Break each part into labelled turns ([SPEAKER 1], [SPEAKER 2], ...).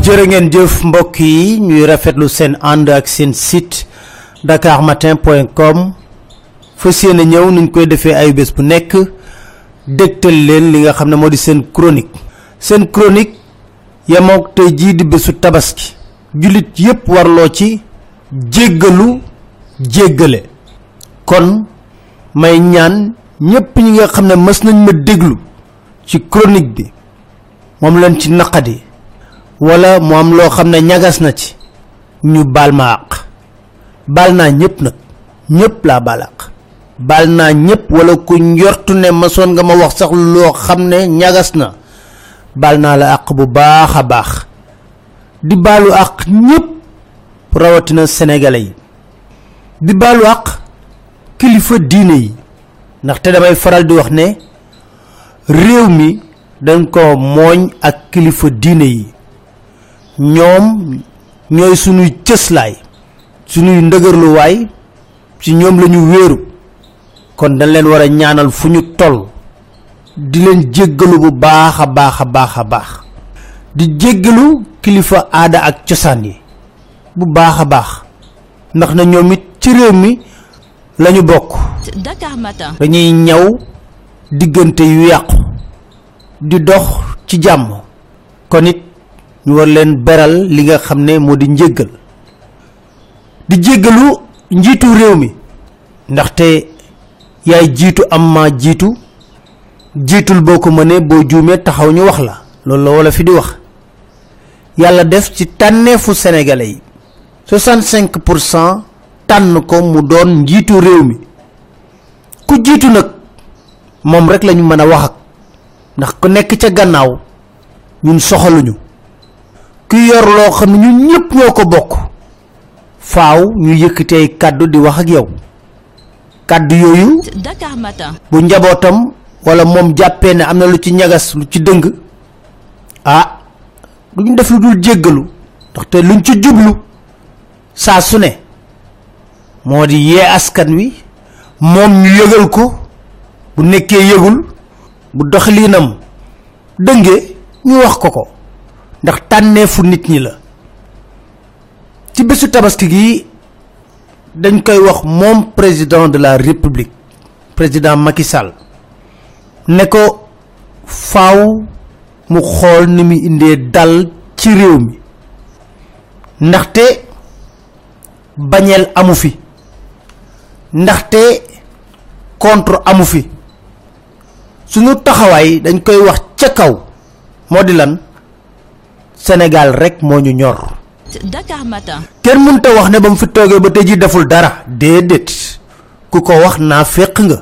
[SPEAKER 1] jërë ngeen jëf mbokk yi ñuy rafetlu seen ànd ak seen site dakarmatin.com fas yéene ñëw nuñ koy defee ay bés bu nekk dégtal leen li nga xam ne moo di seen chronique yamook tey jii di bésu tabaski julit yépp warloo ci jéggalu jéggale kon may ñaan ñépp ñi nga xam ne mës nañ ma déglu ci chronique bi moom lañ ci naqadi wala mo am lo xamne ñagas na ci ñu bal ma ak bal na ñepp nak ñepp la balak bal na ñepp wala ku ñortu ne ma son nga ma wax sax lo xamne ñagas na bal na la ak bu baaxa baax di balu ak ñepp rawatina sénégalais yi di balu ak kilifa diine yi ndax té damay faral di wax ne réew mi dañ ko moñ ak kilifa diine yi ñom ñoy suñu cëslaay suñu ndëgërlu way ci ñom lañu wëru kon dañ leen wara ñaanal fuñu toll di leen jéggalu bu baaxa baax di jéggalu kilifa aada ak ciosan yi bu baaxa baax ndax na ñoom it ci réew mi lañu bokk Dakar Matin dañuy ñaw digënté yu yaqku di dox ci jamm kon it ñu war leen beral li nga xamne modi njéggal di jéggalu njitu réew mi ndaxte yaay jitu amma jitu jitul boko mëne bo juumé taxaw ñu wax la loolu la wala fi di wax yalla def ci tanefu sénégalais yi 65% tan ko mu doon njitu réew mi ku jitu nak mom rek lañu mëna wax ak ndax ku nekk ca gannaaw ñun soxaluñu ku yor lo xamni ñun ñepp ñoko bokk faaw ñu yëkëté kaddu di wax ak yow kaddu yoyu Dakar Matin bu njabotam wala mom jappé né amna lu ci ñagas lu ci dëng duñ def lu dul jéggalu ndax té luñ ci jublu sa suné modi yé askan wi mom ñu yëgal ko bu nekké yëgul bu doxalinam dëngé ñu wax ko ndax tanefu nit ñi la ci bésu tabaski gi dañ koy wax mom président de la république président Macky Sall ne ko faaw mu xol ni mi indé dal ci réew mi ndaxte bañel amu fi ndaxte contre amu fi suñu taxaway dañ koy wax ca kaw modi lan Sénégal rek moñu ñor Dakar Matin kenn mënta wax ne bam fi toogee ba tey ji deful dara déedéet ku ko wax naafeq nga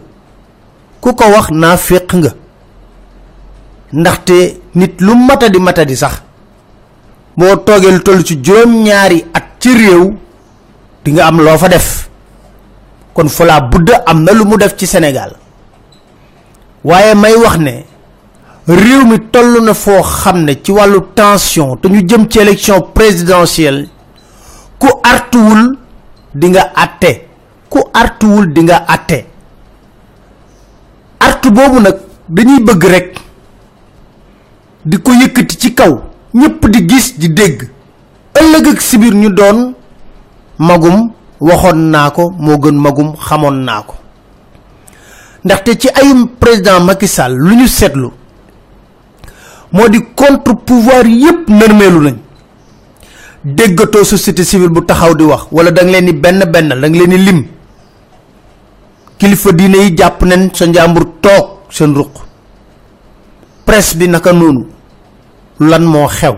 [SPEAKER 1] ndaxte nit lu matadi sax boo toogee lu toll ci juróom ñaari at ci réew di nga am loo fa def kon fala budda am na lu mu def ci Sénégal waaye may wax ne réew mi tollu na fo xamne ci walu tension te ñu jëm ci élection présidentielle ku artuwul di nga atté artu bobu nak dañuy bëgg rek di ko yëkëti ci kaw ñepp di gis di dégg ëllëg ak sibir ñu doon magum waxon nako mo gën magum xamon nako ndaxte ci ayum président Macky Sall lu ñu sétlu modi contre pouvoir yépp nërmelu nañ déggato société civile bu taxaw di wax wala dang leen ni benn dang leen ni lim kilifa diine yi japp nañ sa njambur tok seen ruq presse bi naka nonu lan mo xew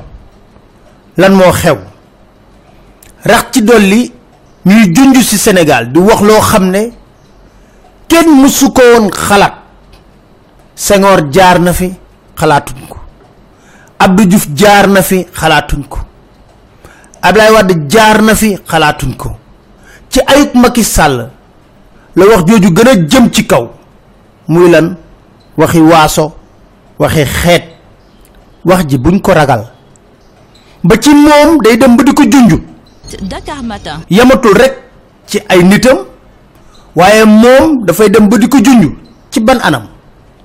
[SPEAKER 1] rax ci dolli ñuy junju ci Sénégal di wax lo xamné kenn musu ko won xalat Senghor jaar na fi xalatuñ ko Abdou Diouf jaar na fi xalaatuñ ko Ablaye Wade jaar na fi xalaatuñ ko ci ayuk Macky Sall la wax joju gëna jëm ci kaw muy lan waxi waaso waxi xeet wax ji buñ ko ragal ba ci mom day dem ba diko junju Dakar Matin yamatul rek ci ay nitam waye mom da fay dem ba diko junju ci ban anam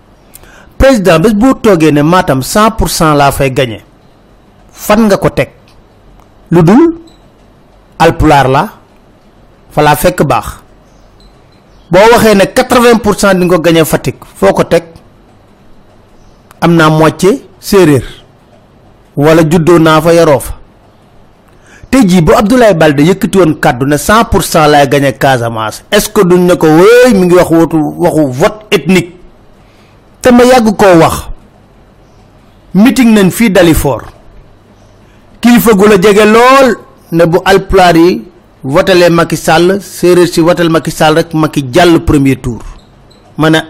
[SPEAKER 1] président bes bu togué né Matam 100% la fay gagner fan nga ko tek ludul alpular la fa la fekk bax bo waxé né 80% di nga gagné Fatick foko tek amna moitié séréer wala juddo na fa yaro fa tay ji bu Abdoulaye Baldé yëkëti won kaddu né 100% lay gagné Casamance est ce que duñ ne ko wéy mi ngi waxu vote ethnique té ma yag ko wax meeting nañ fi Dalifort kilifa gu la jégué lol né bu alpular yi votelé Macky Sall séréer ci votel Macky Sall rek Macky jall premier tour mané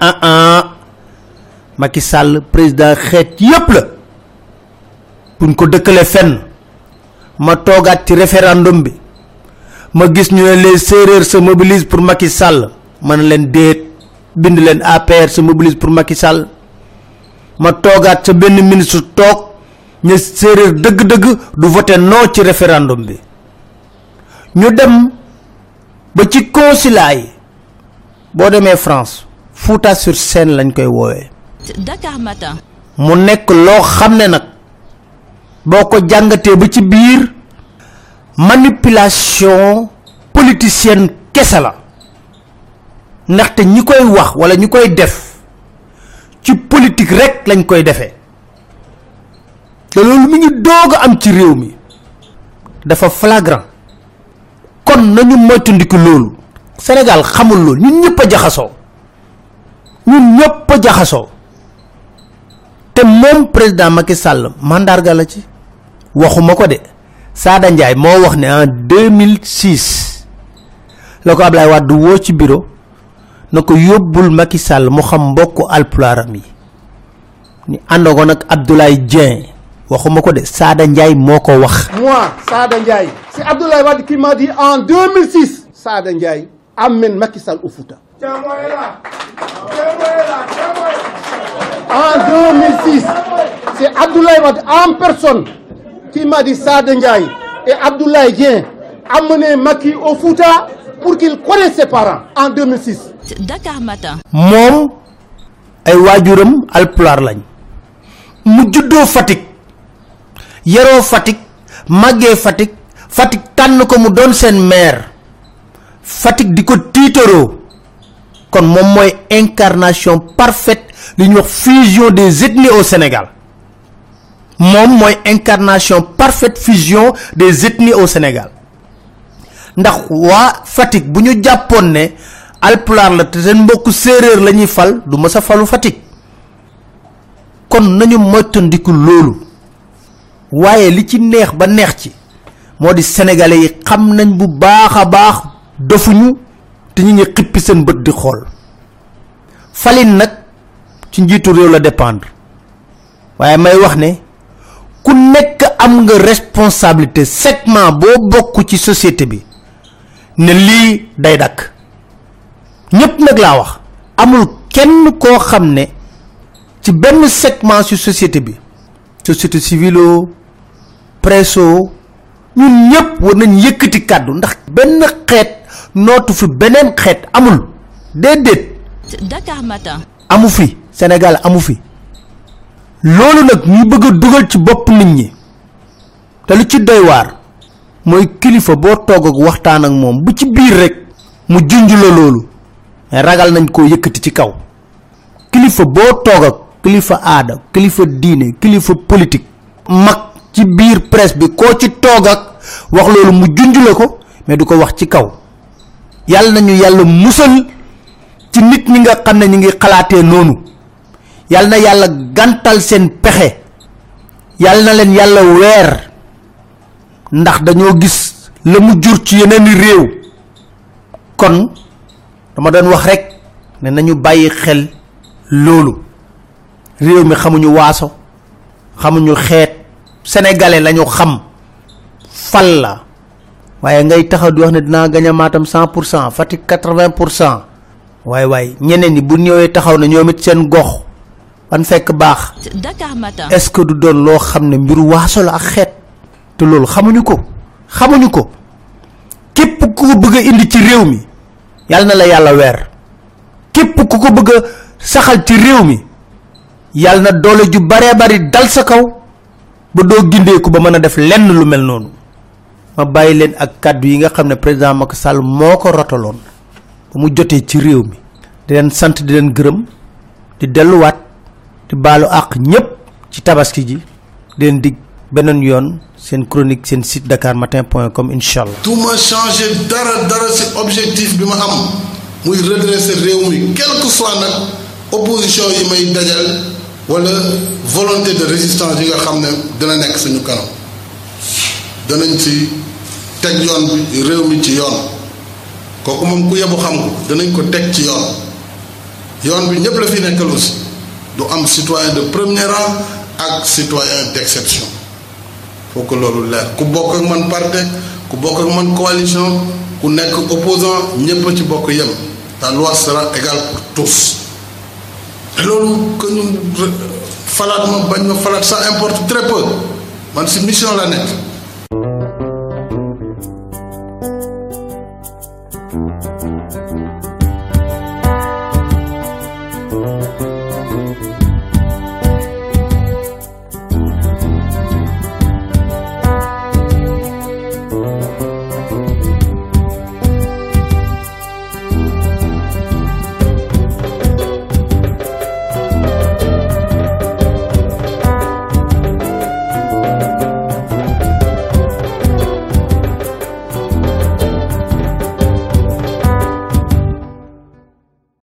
[SPEAKER 1] Macky Sall président xéet yépp la buñ ko dëkkalé fenn ma togat ci référendum bi ma gis ñu les séréer se mobilisent pour Macky Sall man leen déet bind leen APR se mobilise pour Macky Sall ma togat ci benn ministre tok ñu séréer deug deug du voter non ci référendum bi ñu dem ba ci consulat yi bo démé France Fouta sur Seine lañ koy wowe
[SPEAKER 2] Dakar Matin
[SPEAKER 1] mu nek lo xamné nak boko jangaté ba ci biir manipulation politicienne kessa la ndaxte ñi koy wax wala ñi koy def ci politique rek lañ koy défé té lolu mi ngi doga am ci réew mi dafa flagrant kon nañu moytandiku lolu Sénégal xamul lolu ñun ñëpp jaxaso té mom président Macky Sall mandarga la ci waxuma ko dé Sada Ndiaye mo wax né en 2006 lako Ablaye Wade wo ci bureau nako yobul Macky Sall mo xam mbokk alpularam yi ni andogo nak Abdoulaye Dieng waxuma ko dé Sada Ndiaye moko wax
[SPEAKER 3] moi Sada Ndiaye c'est Abdoulaye Wade qui m'a dit en 2006 Sada Ndiaye amène Macky Sall au Fouta en 2006 c'est Abdoulaye Wade en personne qui m'a dit Sada Ndiaye et Abdoulaye Dieng amener Macky au Fouta pour qu'il connaisse ses parents en 2006
[SPEAKER 2] Dakar Matin
[SPEAKER 1] mom ay wajuram alpular lañ mu juddo Fatick yero Fatick magge Fatick tan ko mu don sen maire Fatick diko titoro kon mom moy incarnation parfaite li ñu wax fusion des ethnies au Sénégal mom moy incarnation parfaite fusion des ethnies au Sénégal ndax wa Fatick buñu jappone né alpular la té sen mbokk séréer lañuy fal du mësa falu Fatick kon nañu moytandiku lolu waye li ci neex ba neex ci modi sénégalais yi xam nañ bu baaxa baax dofuñu té ñi xippi sen bëtt di xol falin nak ci njitu rew la dépendre waye may wax né ku nekk am nga responsabilité segment bo bokku ci société bi ne li day dak ñepp nak la wax amul kenn ko xamné ci benn segment ci société bi société civile presso ñun ñepp war nañ yëkëti kaddu ndax benn xéet notu fi benen xéet amul dédét
[SPEAKER 2] Dakar Matin
[SPEAKER 1] amu fi Sénégal amu fi lolu nak ñu bëgg duggal ci bop nit ñi té lu ci doy war moy kilifa bo tog ak waxtaan ak mom bu ci biir rek mu junj la lolu ragal nañ ko yëkëti ci kaw kilifa bo tog ak kilifa aada kilifa diiné kilifa politique mak ci biir presse bi ko ci tog ak wax lolu mu junj la ko mais du ko wax ci kaw yalla nañu yalla musal ci nit ñi nga xamné ñi ngi xalaté nonu yalla na yalla gantal sen pexé yalla na len yalla wër ndax dañoo gis le mu jur ci yeneen réew kon dama doon wax rek né nañu bayyi xel lolu réew mi xamuñu waaso xamuñu xeet sénégalais lañu xam fal la waye ngay taxaw di wax né dina gaña Matam 100% Fatick 80% way ñeneen ni bu ñëwé taxaw na ñoomit seen gox ban fekk baax
[SPEAKER 2] Dakar Matin
[SPEAKER 1] est ce que du doon lo xamné mbiru waaso la ak xeet te lolu xamuñu ko képp ku ko bëgg indi ci réew mi yalla na la yalla wër képp ku ko bëgg saxal ci réew mi yalla na doole ju bare bari dal sa kaw ba do gindé ko ba mëna def lenn lu mel nonu ma bàyyi leen ak kàddu yi nga xam ne président Macky Sall moo ko rotaloon ba mu jotee ci réew mi di leen sant di leen gërëm di delluwaat di baalu àq ñëpp ci tabaski ji di leen dig beneen yoon seen chronique seen site dakarmatin.com inchallah.
[SPEAKER 4] tout ma changé dara ci objectif bi ma am muy redresser réew mi quel que soit nag opposition yi may dajal wala volonté de résistance yi nga xam ne dina nekk suñu kanam danañ ci teg yoon bi réew mi ci yoon kooku moom ku yebu xam ko danañ ko teg ci yoon bi ñëpp la fi nekkal aussi du am citoyen de premier rang ak citoyen d'exception faut que loolu leer ku bokk ak man parti ku bokk ak man coalition ku nekk opposant ñëpp a ci bokk yem la loi sera égale pour tous te loolu que ñu falaat ma bañ ma falaat ça importe très peu man si mission la nekk